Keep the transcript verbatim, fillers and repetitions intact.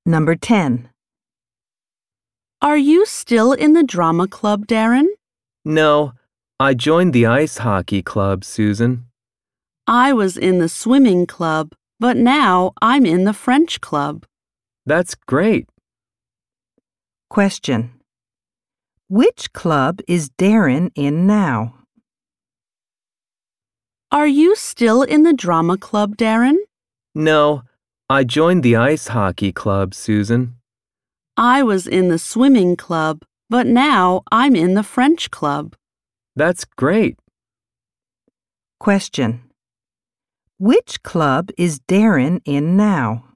Number ten. Are you still in the drama club, Darren? No, I joined the ice hockey club, Susan. I was in the swimming club, but now I'm in the French club. That's great. Question. Which club is Darren in now? Are you still in the drama club, Darren? No, I joined the ice hockey club, Susan. I was in the swimming club, but now I'm in the French club. That's great. Question. Which club is Darren in now?